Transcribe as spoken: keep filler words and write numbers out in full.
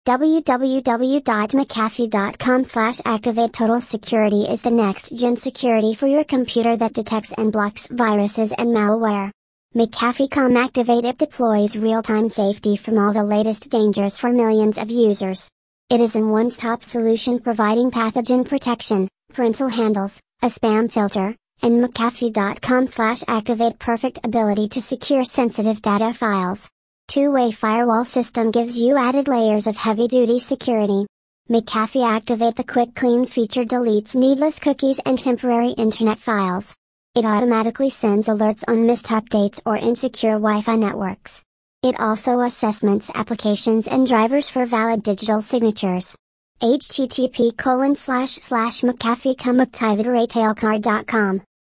www.mcafee.com slash activate total security is the next gen security for your computer that detects and blocks viruses and malware. McAfee dot com Activate It deploys real-time safety from all the latest dangers for millions of users. It is a one-stop solution providing pathogen protection, parental handles, a spam filter, and McAfee dot com slash activate perfect ability to secure sensitive data files. Two-way firewall system gives you added layers of heavy-duty security. McAfee Activate the Quick Clean feature deletes needless cookies and temporary internet files. It automatically sends alerts on missed updates or insecure Wi-Fi networks. It also assessments applications and drivers for valid digital signatures. H T T P colon slash slash McAfee dot com activate retail card dot com